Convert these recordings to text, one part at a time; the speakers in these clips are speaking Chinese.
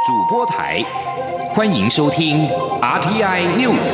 主播台，欢迎收听 RTI News。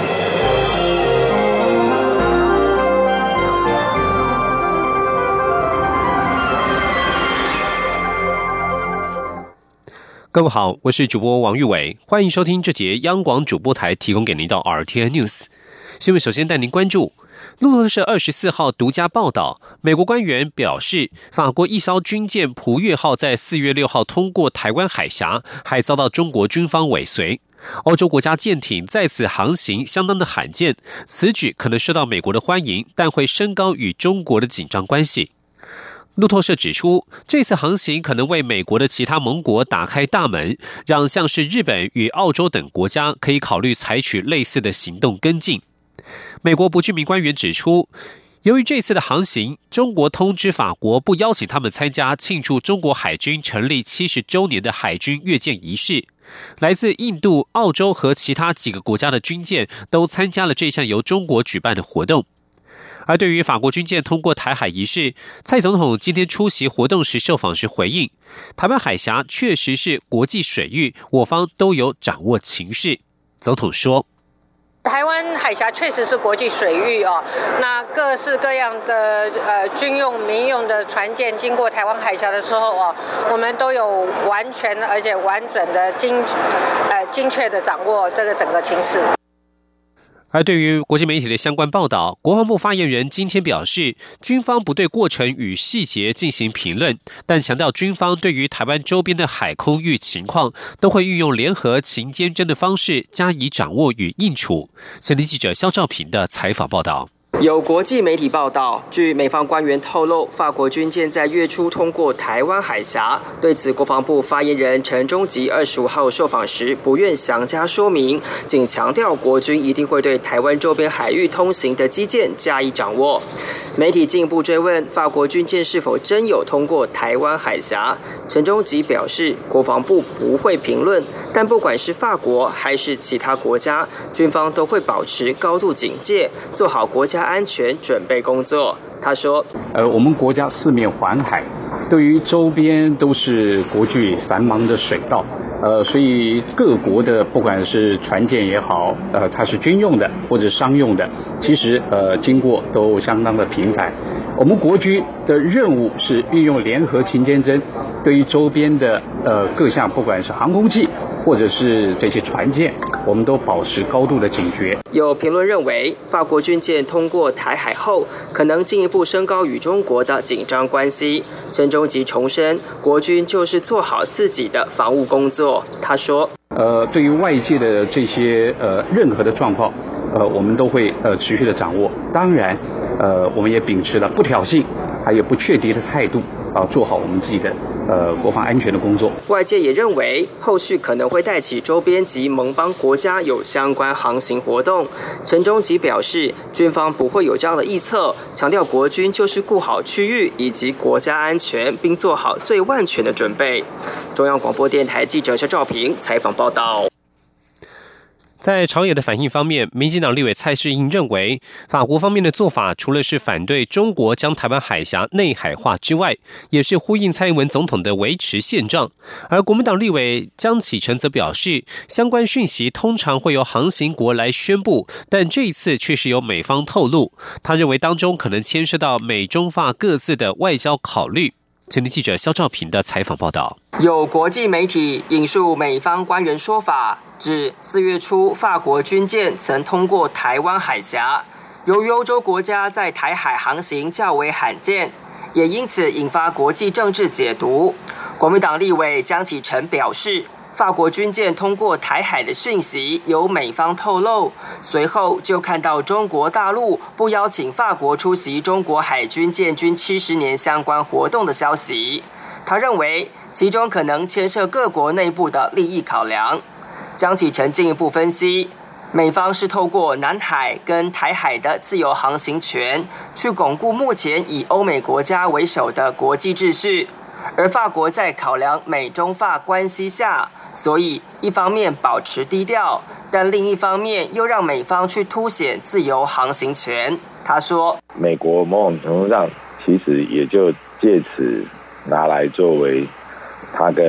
各位好，我是主播王玉伟，欢迎收听这节央广主播台提供给您的 RTI News 新闻。首先带您关注路透社24号独家报道，美国官员表示，法国一艘军舰蒲越号在4月6号通过台湾海峡，还遭到中国军方尾随。欧洲国家舰艇在此航行相当的罕见，此举可能受到美国的欢迎，但会升高与中国的紧张关系。路透社指出，这次航行可能为美国的其他盟国打开大门，让像是日本与澳洲等国家可以考虑采取类似的行动跟进。美国不具名官员指出，由于这次的航行，中国通知法国不邀请他们参加庆祝中国海军成立70周年的海军阅舰仪式。来自印度、澳洲和其他几个国家的军舰都参加了这项由中国举办的活动。而对于法国军舰通过台海仪式，蔡总统今天出席活动时受访时回应，台湾海峡确实是国际水域，我方都有掌握情势。总统说， 台湾海峡确实是国际水域哦，那各式各样的军用、民用的船舰经过台湾海峡的时候哦，我们都有完全而且完整的精确的掌握这个整个情势。 而对于国际媒体的相关报道，国防部发言人今天表示，军方不对过程与细节进行评论，但强调军方对于台湾周边的海空域情况，都会运用联合勤监侦的方式加以掌握与应处。前天记者肖兆平的采访报道。 有国际媒体报道，据美方官员透露，法国军舰在月初通过台湾海峡。对此，国防部发言人陈忠吉25号受访时不愿详加说明，仅强调国军一定会对台湾周边海域通行的基建加以掌握。媒体进一步追问法国军舰是否真有通过台湾海峡，陈忠吉表示，国防部不会评论，但不管是法国还是其他国家，军方都会保持高度警戒，做好国家安全准备工作。他说， 我们国家四面环海，对于周边都是国际繁忙的水道，所以各国的不管是船舰也好，它是军用的或者商用的，其实经过都相当的频繁。我们国军的任务是运用联合勤监侦，对于周边的各项不管是航空器或者是这些船舰，我们都保持高度的警觉。 有评论认为，法国军舰通过台海后，可能进一步升高与中国的紧张关系。陈忠吉重申，国军就是做好自己的防务工作。他说， 对于外界的这些任何的状况，我们都会持续的掌握。当然，我们也秉持了不挑衅还有不确敌的态度，做好我们自己的国防安全的工作。 外界也认为，后续可能会带起周边及盟邦国家有相关航行活动。陈忠吉表示，军方不会有这样的臆测，强调国军就是顾好区域以及国家安全，并做好最万全的准备。中央广播电台记者肖兆平采访报道。 在朝野的反应方面，民进党立委蔡适应认为，法国方面的做法除了是反对中国将台湾海峡内海化之外，也是呼应蔡英文总统的维持现状。而国民党立委江启臣则表示，相关讯息通常会由航行国来宣布，但这一次却是由美方透露。他认为当中可能牵涉到美中法各自的外交考虑。前天记者肖兆平的采访报道。 有国际媒体引述美方官员说法，指4月初法国军舰曾通过台湾海峡，由于欧洲国家在台海航行较为罕见，也因此引发国际政治解读。国民党立委江启臣表示，法国军舰通过台海的讯息由美方透露，随后就看到中国大陆不邀请法国出席中国海军建军70年相关活动的消息。他认为其中可能牵涉各国内部的利益考量。江启臣进一步分析，美方是透过南海跟台海的自由航行权，去巩固目前以欧美国家为首的国际秩序，而法国在考量美中法关系下，所以一方面保持低调，但另一方面又让美方去凸显自由航行权。他说， 美国某种程度上其实也就借此拿来作为他跟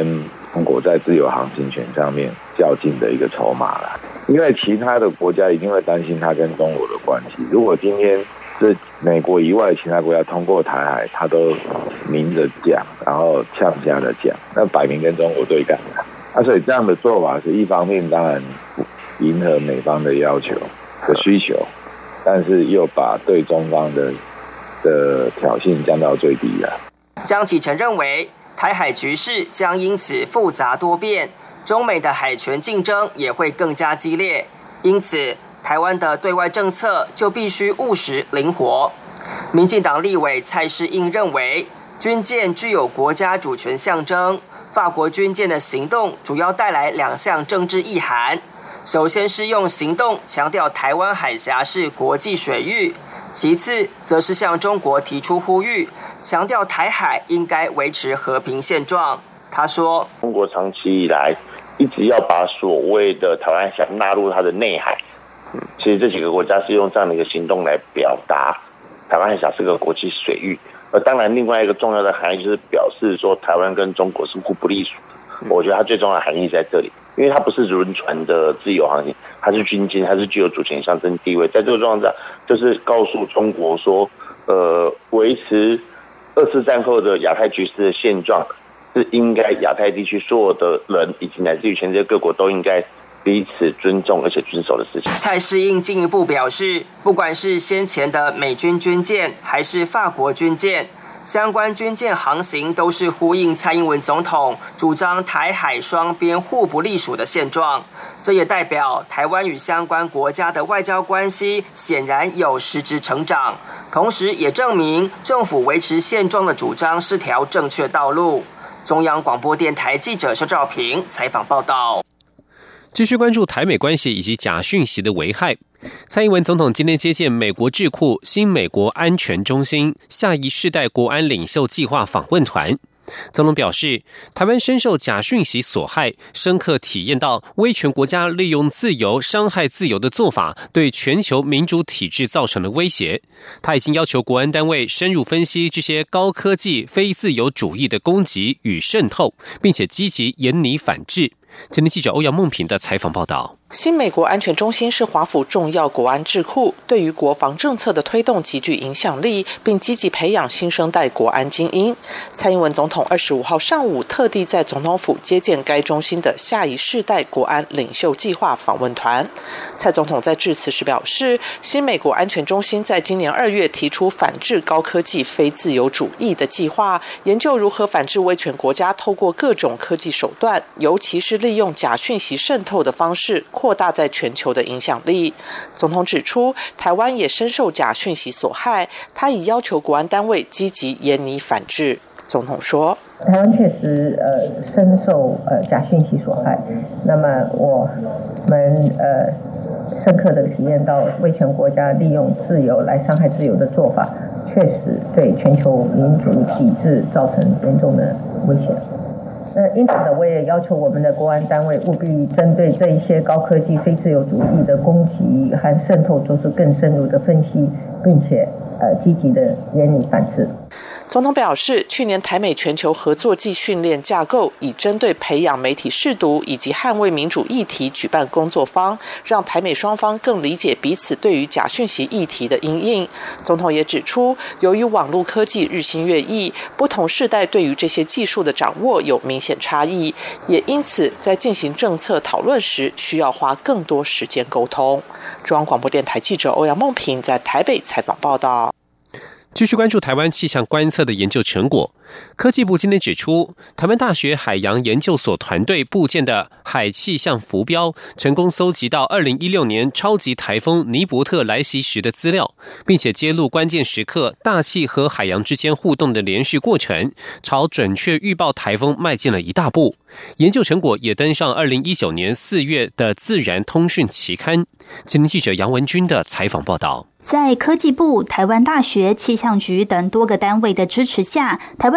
中国在自由航行权上面较劲的一个筹码啦。因为其他的国家一定会担心它跟中国的关系。如果今天是美国以外其他国家通过台海，它都明着讲，然后呛瞎的讲，那摆明跟中国对干了。所以这样的做法是一方面当然迎合美方的要求的需求，但是又把对中方的挑衅降到最低了。 江启臣认为，台海局势将因此复杂多变，中美的海权竞争也会更加激烈，因此台湾的对外政策就必须务实灵活。民进党立委蔡适应认为，军舰具有国家主权象征，法国军舰的行动主要带来2项政治意涵。首先是用行动强调台湾海峡是国际水域，其次则是向中国提出呼吁，强调台海应该维持和平现状。他说， 中国长期以来一直要把所谓的台湾海峡纳入它的内海，其实这几个国家是用这样的一个行动来表达台湾海峡是个国际水域，而当然另外一个重要的含义就是表示说台湾跟中国是互不隶属的。我觉得它最重要的含义在这里，因为它不是轮船的自由航行，它是军舰，它是具有主权象征地位。在这个状况下，就是告诉中国说，维持2次战后的亚太局势的现状，是应该亚太地区所有的人以及乃至于全世界各国都应该彼此尊重而且遵守的事情。 蔡适应进一步表示，不管是先前的美军军舰还是法国军舰，相关军舰航行都是呼应蔡英文总统主张台海双边互不隶属的现状。这也代表台湾与相关国家的外交关系显然有实质成长，同时也证明政府维持现状的主张是条正确道路。中央广播电台记者肖兆平采访报道。 继续关注台美关系以及假讯息的危害。蔡英文总统今天接见美国智库新美国安全中心下一世代国安领袖计划访问团。总统表示，台湾深受假讯息所害，深刻体验到威权国家利用自由伤害自由的做法对全球民主体制造成了威胁。他已经要求国安单位深入分析这些高科技非自由主义的攻击与渗透，并且积极严拟反制。今天记者欧阳梦平的采访报道。 新美国安全中心是华府重要国安智库，对于国防政策的推动极具影响力，并积极培养新生代国安精英。蔡英文总统25号上午特地在总统府接见该中心的下一世代国安领袖计划访问团。蔡总统在致辞时表示，新美国安全中心在今年2月提出反制高科技非自由主义的计划，研究如何反制威权国家透过各种科技手段，尤其是利用假讯息渗透的方式扩大在全球的影响力。总统指出，台湾也深受假讯息所害，他已要求国安单位积极严拟反制。总统说， 台湾确实深受假讯息所害，那么我们深刻的体验到威权国家利用自由来伤害自由的做法，确实对全球民主体制造成严重的威胁。因此呢，我也要求我们的国安单位务必针对这一些高科技非自由主义的攻击和渗透做出更深入的分析，并且积极的严拟反制。 总统表示，去年台美全球合作暨训练架构已针对培养媒体识读以及捍卫民主议题举办工作坊，让台美双方更理解彼此对于假讯息议题的因应。总统也指出，由于网络科技日新月异，不同世代对于这些技术的掌握有明显差异，也因此在进行政策讨论时需要花更多时间沟通。中央广播电台记者欧阳梦平在台北采访报道。 继续关注台湾气象观测的研究成果。科技部今天指出，台湾大学海洋研究所团队布建的海气象浮标，成功搜集到2016年超级台风尼伯特来袭时的资料，并且揭露关键时刻大气和海洋之间互动的连续过程，朝准确预报台风迈进了一大步。研究成果也登上2019年4月的《自然通讯》期刊。今天记者杨文君的采访报道。 在科技部、台湾大学、气象局等多个单位的支持下，台湾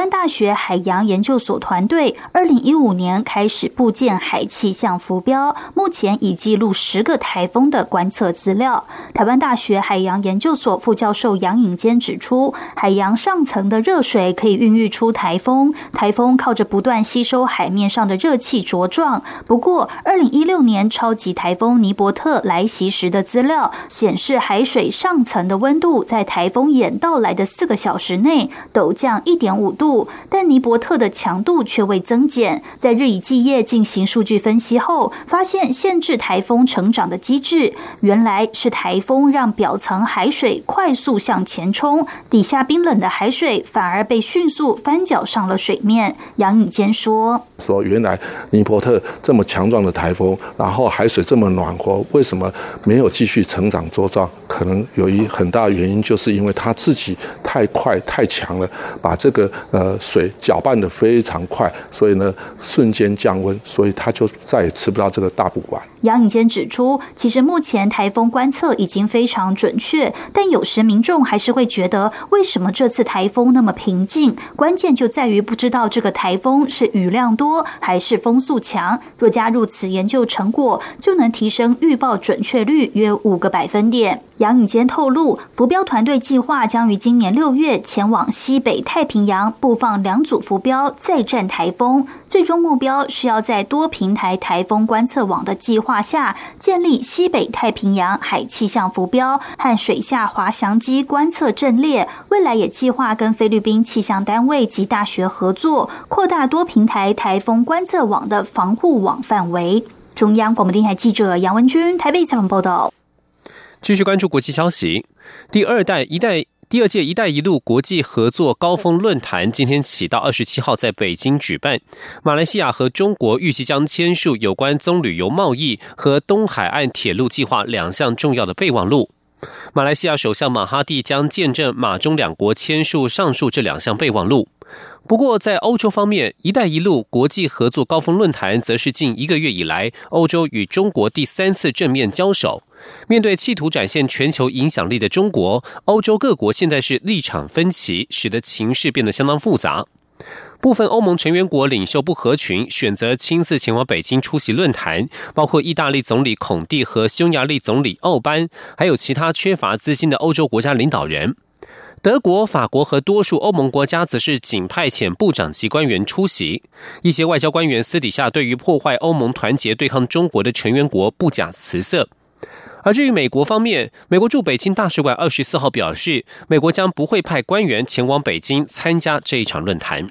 湾大学海洋研究所团队2015年开始布建海气象浮标，目前已记录10个台风的观测资料。台湾大学海洋研究所副教授杨颖坚指出，海洋上层的热水可以孕育出台风，台风靠着不断吸收海面上的热气茁壮。不过2016年超级台风尼伯特来袭时的资料显示，海水上层的温度在台风眼到来的4个小时内陡降1.5度，但尼伯特的强度却未增减。在日以继夜进行数据分析后，发现限制台风成长的机制，原来是台风让表层海水快速向前冲，底下冰冷的海水反而被迅速翻搅上了水面。杨颖坚说原来尼伯特这么强壮的台风，然后海水这么暖和，为什么没有继续成长茁壮？可能有一很大的原因，就是因为它自己太快太强了，把这个水搅拌得非常快，所以呢瞬间降温，所以它就再也吃不到这个大补丸。 杨颖坚指出，其实目前台风观测已经非常准确，但有时民众还是会觉得，为什么这次台风那么平静？关键就在于不知道这个台风是雨量多还是风速强。若加入此研究成果，就能提升预报准确率约5个百分点。杨颖坚透露，浮标团队计划将于今年6月前往西北太平洋布放2组浮标，再战台风。最终目标是要在多平台台风观测网的计划下，建立西北太平洋海气象浮标和水下滑翔机观测阵列。未来也计划跟菲律宾气象单位及大学合作，扩大多平台台风观测网的防护网范围。中央广播电台记者杨文君台北采访报道。 继续关注国际消息，第二届“一带一路”国际合作高峰论坛今天起到27号在北京举办。马来西亚和中国预计将签署有关棕榈油贸易和东海岸铁路计划2项重要的备忘录。马来西亚首相马哈蒂将见证马中2国签署上述这2项备忘录。不过在欧洲方面，“一带一路”国际合作高峰论坛则是近1个月以来欧洲与中国第3次正面交手。面对企图展现全球影响力的中国，欧洲各国现在是立场分歧，使得情势变得相当复杂。部分欧盟成员国领袖不合群，选择亲自前往北京出席论坛，包括意大利总理孔蒂和匈牙利总理奥班，还有其他缺乏资金的欧洲国家领导人。德国、法国和多数欧盟国家则是仅派遣部长级官员出席。一些外交官员私底下对于破坏欧盟团结对抗中国的成员国不假辞色。而至于美国方面，美国驻北京大使馆24号表示，美国将不会派官员前往北京参加这一场论坛。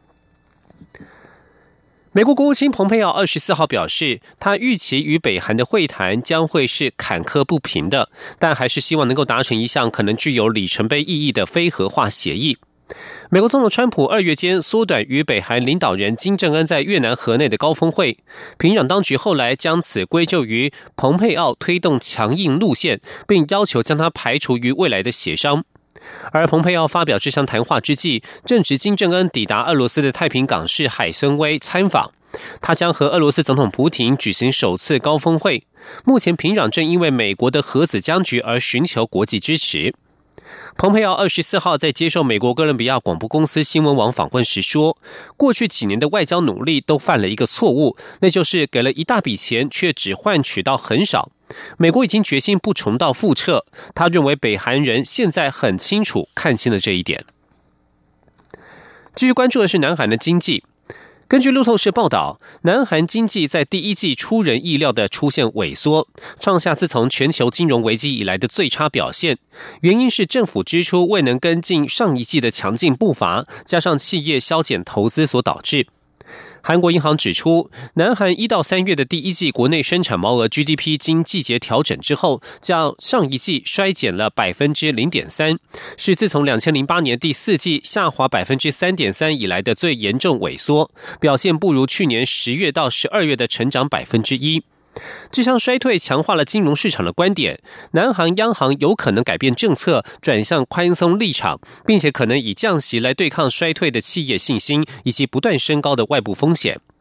美国国务卿蓬佩奥24号表示，他预期与北韩的会谈将会是坎坷不平的，但还是希望能够达成一项可能具有里程碑意义的非核化协议。美国总统川普2月间缩短与北韩领导人金正恩在越南河内的高峰会，平壤当局后来将此归咎于蓬佩奥推动强硬路线，并要求将他排除于未来的协商。而蓬佩奥发表这项谈话之际，正值金正恩抵达俄罗斯的太平港市海参崴参访，他将和俄罗斯总统普廷举行首次高峰会。目前平壤正因为美国的核子僵局而寻求国际支持。蓬佩奥24号在接受美国哥伦比亚广播公司新闻网访问时说，过去几年的外交努力都犯了一个错误，那就是给了一大笔钱却只换取到很少。美国已经决心不重蹈覆辙，他认为北韩人现在很清楚看清了这一点。继续关注的是南韩的经济。根据路透社报道，南韩经济在第一季出人意料的出现萎缩，创下自从全球金融危机以来的最差表现。原因是政府支出未能跟进上一季的强劲步伐，加上企业削减投资所导致。韩国银行指出，南韩1到3月的第一季国内生产毛额 GDP 经季节调整之后，较上一季衰减了 0.3%， 是自从2008年第4季下滑 3.3% 以来的最严重萎缩，表现不如去年10月到12月的成长 1%。这项衰退强化了金融市场的观点，南韩央行有可能改变政策，转向宽松立场，并且可能以降息来对抗衰退的企业信心以及不断升高的外部风险。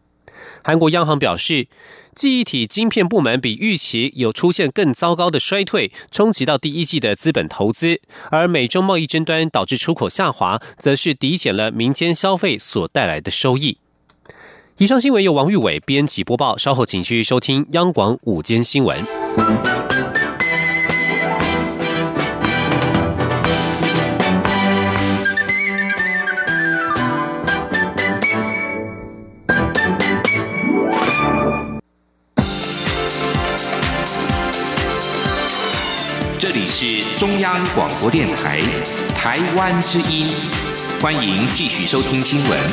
韩国央行表示，记忆体晶片部门比预期有出现更糟糕的衰退，冲击到第一季的资本投资，而美中贸易争端导致出口下滑，则是抵减了民间消费所带来的收益。以上新闻由王玉伟编辑播报，稍后请继续收听央广午间新闻。 这里是中央广播电台台湾之音，欢迎继续收听新闻。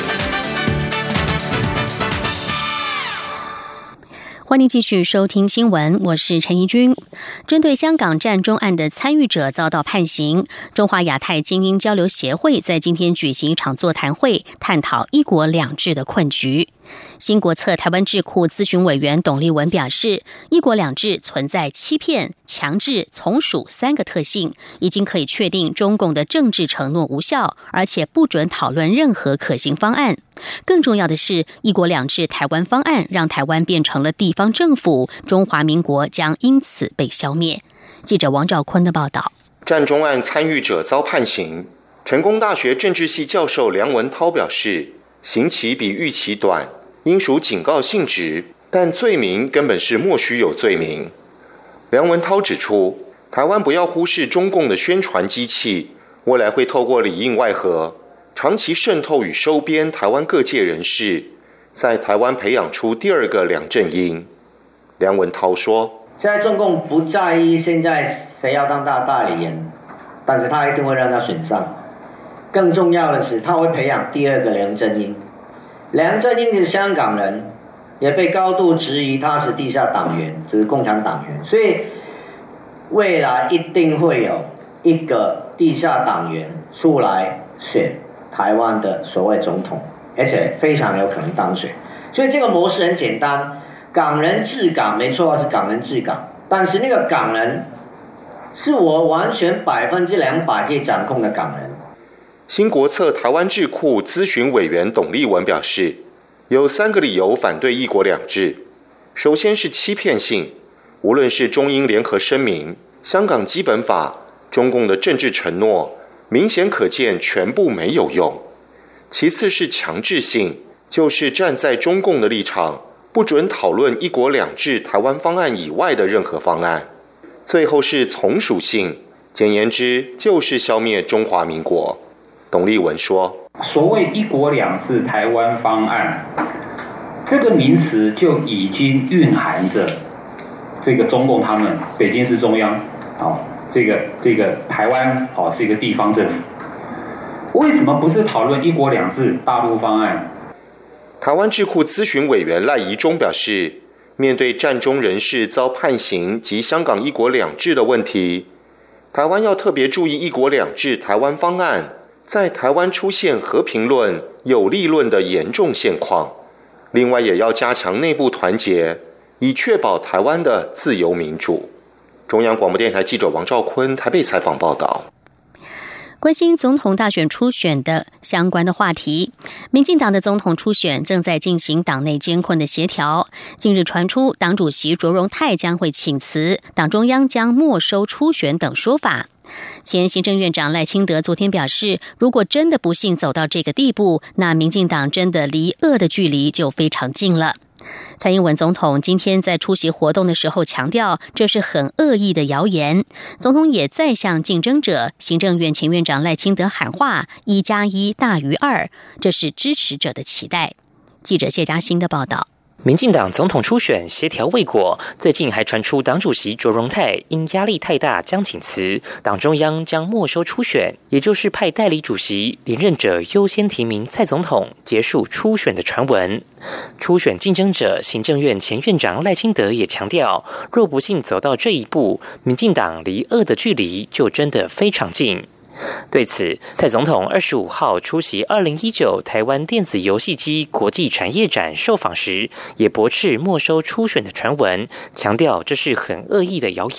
欢迎继续收听新闻，我是陈怡君。针对香港战中案的参与者遭到判刑，中华亚太精英交流协会在今天举行一场座谈会，探讨一国两制的困局。新国策台湾智库咨询委员董立文表示，一国两制存在欺骗、强制、从属3个特性，已经可以确定中共的政治承诺无效，而且不准讨论任何可行方案。更重要的是，一国两制台湾方案让台湾变成了地方政府，中华民国将因此被消灭。记者王兆坤的报道。 战中案参与者遭判刑，成功大学政治系教授梁文涛表示，刑期比预期短，应属警告性质，但罪名根本是莫须有罪名。梁文涛指出，台湾不要忽视中共的宣传机器，未来会透过里应外合，长期渗透与收编台湾各界人士，在台湾培养出第二个梁振英。梁文涛说， 现在中共不在意现在谁要当大代理人，但是他一定会让他选上。更重要的是，他会培养第二个梁振英。梁振英是香港人，也被高度质疑他是地下党员，就是共产党员，所以未来一定会有一个地下党员出来选台湾的所谓总统，而且非常有可能当选。所以这个模式很简单，港人治港没错，是港人治港，但是那个港人是我完全200%可以掌控的港人。 新国策台湾智库咨询委员董立文表示，有3个理由反对一国两制。首先是欺骗性，无论是中英联合声明、香港基本法、中共的政治承诺，明显可见全部没有用。其次是强制性，就是站在中共的立场，不准讨论一国两制台湾方案以外的任何方案。最后是从属性，简言之就是消灭中华民国。董立文说， 所谓一国两制台湾方案这个名词就已经蕴含着这个中共他们北京市中央这个台湾是一个地方政府，为什么不是讨论一国两制大陆方案？ 台湾智库咨询委员赖宜中表示，面对战中人士遭判刑及香港一国两制的问题，台湾要特别注意一国两制台湾方案在台湾出现和平论、有利论的严重现况。另外也要加强内部团结，以确保台湾的自由民主。中央广播电台记者王兆坤台北采访报道。 关心总统大选初选的相关的话题，民进党的总统初选正在进行党内艰困的协调。近日传出党主席卓荣泰将会请辞，党中央将没收初选等说法。前行政院长赖清德昨天表示，如果真的不幸走到这个地步，那民进党真的离恶的距离就非常近了。蔡英文总统今天在出席活动的时候强调，这是很恶意的谣言。总统也再向竞争者行政院前院长赖清德喊话，1+1大于2，这是支持者的期待。记者谢嘉欣的报道。 民进党总统初选协调未果，最近还传出党主席卓荣泰因压力太大将请辞，党中央将没收初选，也就是派代理主席连任者优先提名蔡总统，结束初选的传闻。初选竞争者行政院前院长赖清德也强调，若不幸走到这一步，民进党离恶的距离就真的非常近。对此，蔡总统25号出席2019台湾电子游戏机国际产业展受访时，也驳斥没收初选的传闻，强调这是很恶意的谣言。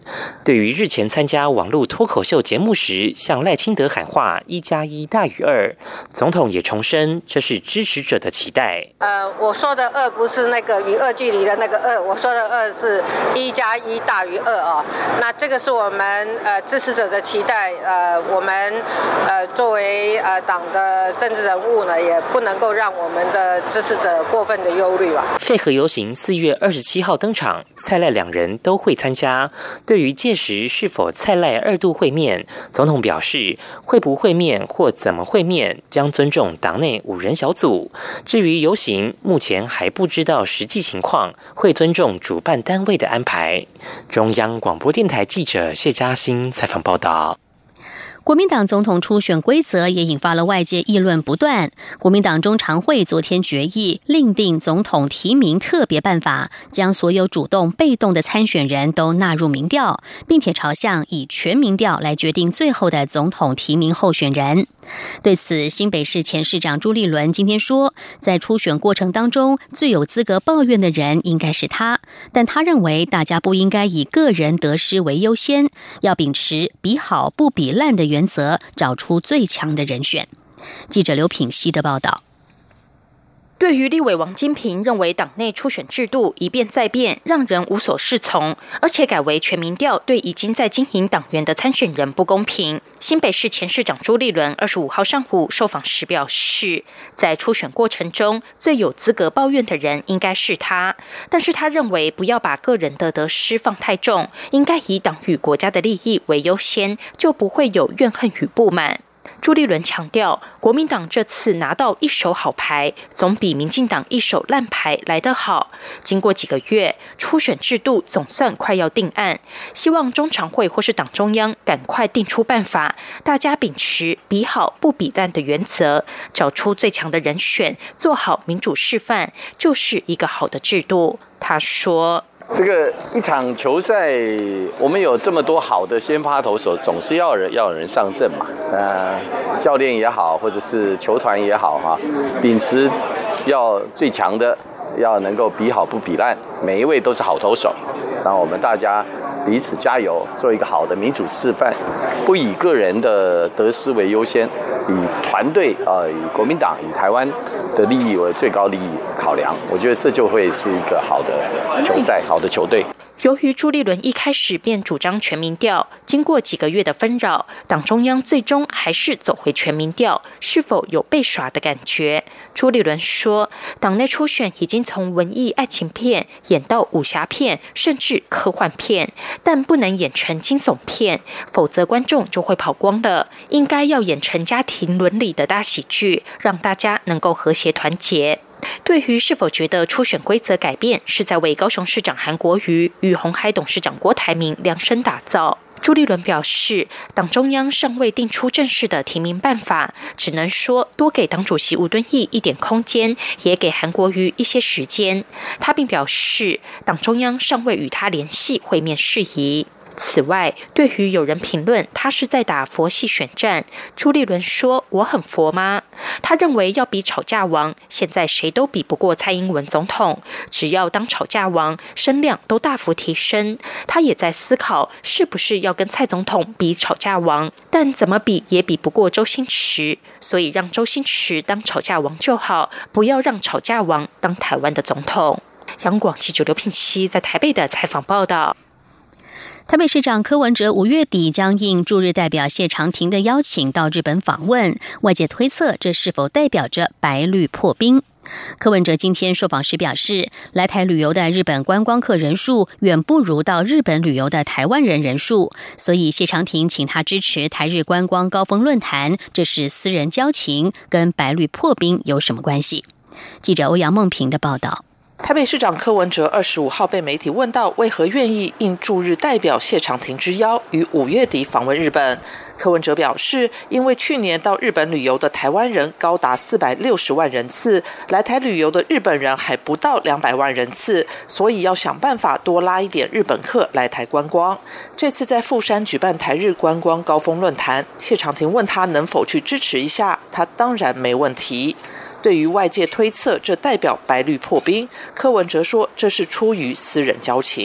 对于日前参加网络脱口秀节目时向赖清德喊话1+1大于2，总统也重申这是支持者的期待。 我说的2不是那个与2距离的那个2，我说的2是1+1大于2哦。那这个是我们支持者的期待。我们作为党的政治人物呢，也不能够让我们的支持者过分的忧虑吧。 废核游行4月27号登场，蔡赖两人都会参加。对于届时是否蔡赖2度会面，总统表示会不会面或怎么会面，将尊重党内5人小组。至于游行，目前还不知道实际情况，会尊重主办单位的安排。中央广播电台记者谢嘉欣采访报道。 国民党总统初选规则也引发了外界议论不断。国民党中常会昨天决议另定总统提名特别办法，将所有主动被动的参选人都纳入民调，并且朝向以全民调来决定最后的总统提名候选人。对此，新北市前市长朱立伦今天说，在初选过程当中最有资格抱怨的人应该是他，但他认为大家不应该以个人得失为优先，要秉持比好不比烂的原则，找出最强的人选。记者刘品希的报道。 对于立委王金平认为党内初选制度一变再变，让人无所适从，而且改为全民调对已经在经营党员的参选人不公平。新北市前市长朱立伦25号上午受访时表示，在初选过程中最有资格抱怨的人应该是他，但是他认为不要把个人的得失放太重，应该以党与国家的利益为优先，就不会有怨恨与不满。朱立伦强调，国民党这次拿到一手好牌，总比民进党一手烂牌来得好。经过几个月，初选制度总算快要定案，希望中常会或是党中央赶快定出办法，大家秉持比好不比烂的原则，找出最强的人选，做好民主示范，就是一个好的制度。他说， 这个一场球赛，我们有这么多好的先发投手，总是要有人上阵嘛。教练也好，或者是球团也好哈，秉持要最强的，要能够比好不比烂，每一位都是好投手。让我们大家彼此加油，做一个好的民主示范，不以个人的得失为优先，以团队以国民党、以台湾的利益为最高利益考量。我觉得这就会是一个好的球赛，好的球队。 由于朱立伦一开始便主张全民调，经过几个月的纷扰，党中央最终还是走回全民调，是否有被耍的感觉？朱立伦说，党内初选已经从文艺爱情片演到武侠片，甚至科幻片，但不能演成惊悚片，否则观众就会跑光了。应该要演成家庭伦理的大喜剧，让大家能够和谐团结。对于是否觉得初选规则改变是在为高雄市长韩国瑜与鸿海董事长郭台铭量身打造，朱立伦表示，党中央尚未定出正式的提名办法，只能说多给党主席吴敦义一点空间，也给韩国瑜一些时间。他并表示，党中央尚未与他联系会面事宜。此外，对于有人评论他是在打佛系选战，朱立伦说，我很佛吗？他认为要比吵架王，现在谁都比不过蔡英文总统，只要当吵架王，声量都大幅提升。他也在思考是不是要跟蔡总统比吵架王，但怎么比也比不过周星驰，所以让周星驰当吵架王就好，不要让吵架王当台湾的总统。央广记者刘品希在台北的采访报道。 台北市长柯文哲5月底将应驻日代表谢长廷的邀请到日本访问，外界推测这是否代表着白绿破冰？柯文哲今天受访时表示，来台旅游的日本观光客人数远不如到日本旅游的台湾人人数，所以谢长廷请他支持台日观光高峰论坛，这是私人交情，跟白绿破冰有什么关系？记者欧阳梦平的报道。 台北市长柯文哲25号被媒体问到为何愿意应驻日代表谢长廷之邀于5月底访问日本，柯文哲表示，因为去年到日本旅游的台湾人高达460万人次，来台旅游的日本人还不到200万人次，所以要想办法多拉一点日本客来台观光。这次在富山举办台日观光高峰论坛，谢长廷问他能否去支持一下，他当然没问题。对于外界推测这代表白绿破冰，柯文哲说这是出于私人交情。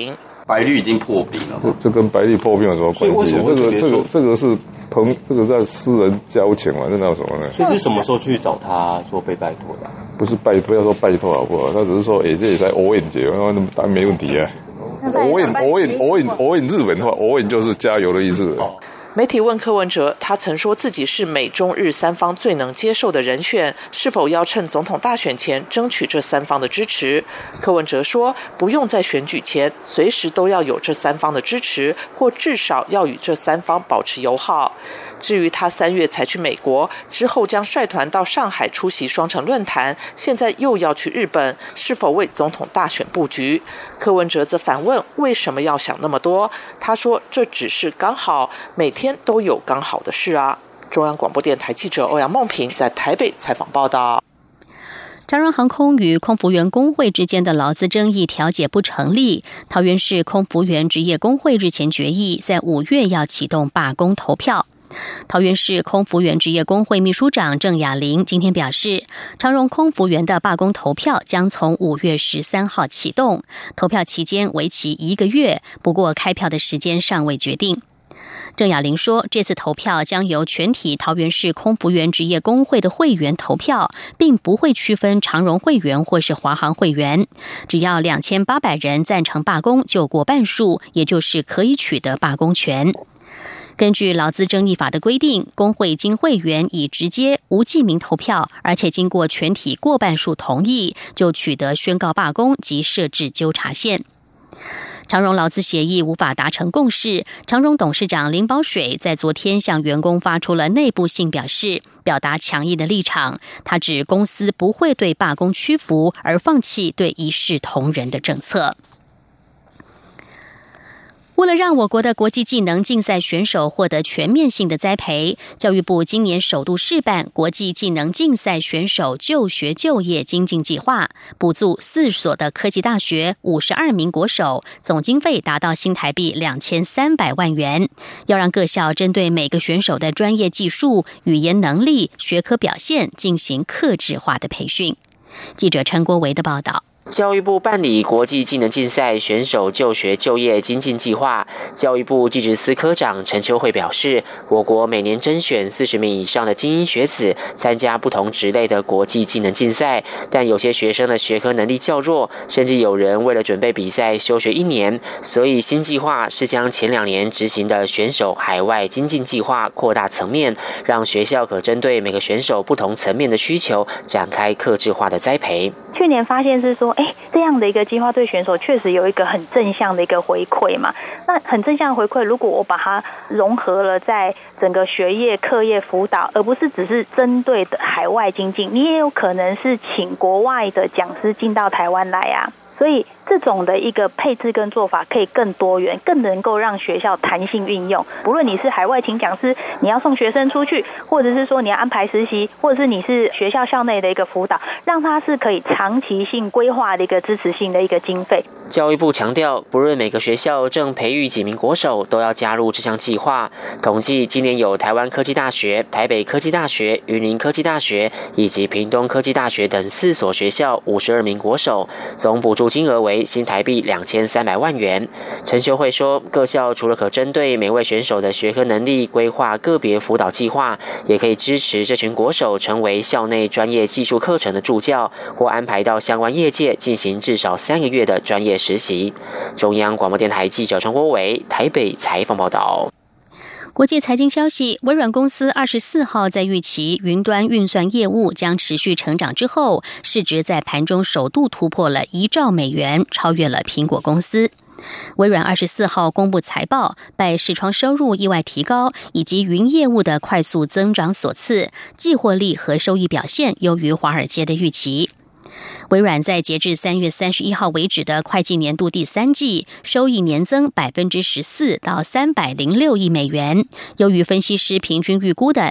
白绿已经破冰了。 这跟白绿破冰有什么关系？这个是这个在私人交情嘛，这哪有什么呢？ 这是什么时候去找他说被拜托的？ 不是不要说拜托好不好？他只是说，这也在偶引节，当然没问题啊。偶引日本的话，偶引就是加油的意思。 媒体问柯文哲，他曾说自己是美中日三方最能接受的人选，是否要趁总统大选前争取这三方的支持？柯文哲说，不用在选举前，随时都要有这三方的支持，或至少要与这三方保持友好。至于他3月才去美国，之后将率团到上海出席双城论坛，现在又要去日本，是否为总统大选布局？柯文哲则反问，为什么要想那么多？他说，这只是刚好，每天都有刚好的事啊。中央广播电台记者欧阳梦平在台北采访报道。 长荣航空与空服员工会之间的劳资争议调解不成立，桃园市空服员职业工会日前决议，在5月要启动罢工投票。桃园市空服员职业工会秘书长郑雅玲今天表示，长荣空服员的罢工投票将从5月13号启动，投票期间为期1个月，不过开票的时间尚未决定。郑雅玲说，这次投票将由全体桃园市空服员职业工会的会员投票，并不会区分长荣会员或是华航会员，只要2800人赞成罢工就过半数，也就是可以取得罢工权。根据劳资争议法的规定，工会经会员以直接无记名投票，而且经过全体过半数同意，就取得宣告罢工及设置纠察线。长荣劳资协议无法达成共识，长荣董事长林保水在昨天向员工发出了内部信表达强硬的立场。他指公司不会对罢工屈服，而放弃对一视同仁的政策。为了让我国的国际技能竞赛选手获得全面性的栽培，教育部今年首度试办国际技能竞赛选手就学就业精进计划，补助4所的科技大学52名国手，总经费达到新台币2300万元，要让各校针对每个选手的专业技术、语言能力、学科表现进行客制化的培训。记者陈国维的报道。 教育部办理国际技能竞赛选手就学就业精进计划，教育部技职司科长陈秋惠表示，我国每年甄选40名以上的精英学子参加不同职类的国际技能竞赛，但有些学生的学科能力较弱，甚至有人为了准备比赛休学1年，所以新计划是将前2年执行的选手海外精进计划扩大层面，让学校可针对每个选手不同层面的需求展开客制化的栽培。 去年发现是说，这样的一个计划对选手确实有一个很正向的一个回馈嘛。那很正向的回馈，如果我把它融合了在整个学业、课业辅导，而不是只是针对的海外精进，你也有可能是请国外的讲师进到台湾来啊。所以这种的一个配置跟做法可以更多元，更能够让学校弹性运用。不论你是海外请讲师，你要送学生出去，或者是说你要安排实习，或者是你是学校校内的一个辅导，让它是可以长期性规划的一个支持性的一个经费。 教育部强调，不论每个学校正培育几名国手，都要加入这项计划。统计今年有台湾科技大学、台北科技大学、云林科技大学以及屏东科技大学等4所学校52名国手，总补助金额为新台币2300万元。陈秀慧说，各校除了可针对每位选手的学科能力规划个别辅导计划，也可以支持这群国手成为校内专业技术课程的助教，或安排到相关业界进行至少3个月的专业实习。中央广播电台记者陈国伟台北采访报道。 国际财经消息，微软公司24号在预期云端运算业务将持续成长之后，市值在盘中首度突破了1兆美元，超越了苹果公司。微软24号公布财报，拜视窗收入意外提高以及云业务的快速增长所赐，季获利和收益表现优于华尔街的预期。微软在截至3月31号为止的会计年度第3季，收益年增14%到306亿美元，优于分析师平均预估的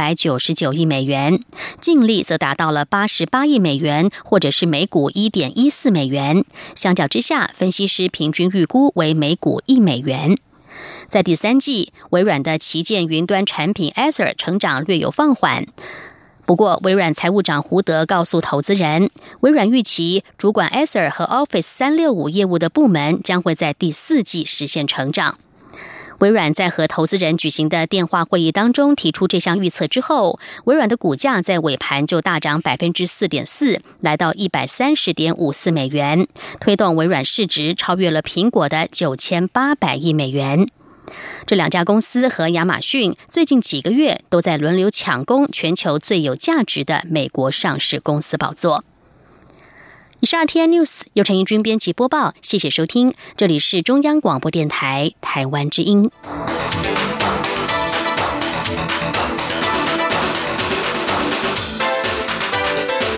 299亿美元，净利则达到了88亿美元，或者是每股1.14美元，相较之下，分析师平均预估为每股1美元。在第3季，微软的旗舰云端产品 Azure 成长略有放缓， 不过，微软财务长胡德告诉投资人，微软预期主管 Azure 和 Office 365业务的部门将会在第4季实现成长。微软在和投资人举行的电话会议当中提出这项预测之后，微软的股价在尾盘就大涨 4.4%， 来到130.54美元，推动微软市值超越了苹果的9800亿美元。这两家公司和亚马逊最近几个月都在轮流抢攻全球最有价值的美国上市公司宝座。以上 RTI News 由陈怡君编辑播报，谢谢收听，这里是中央广播电台台湾之音。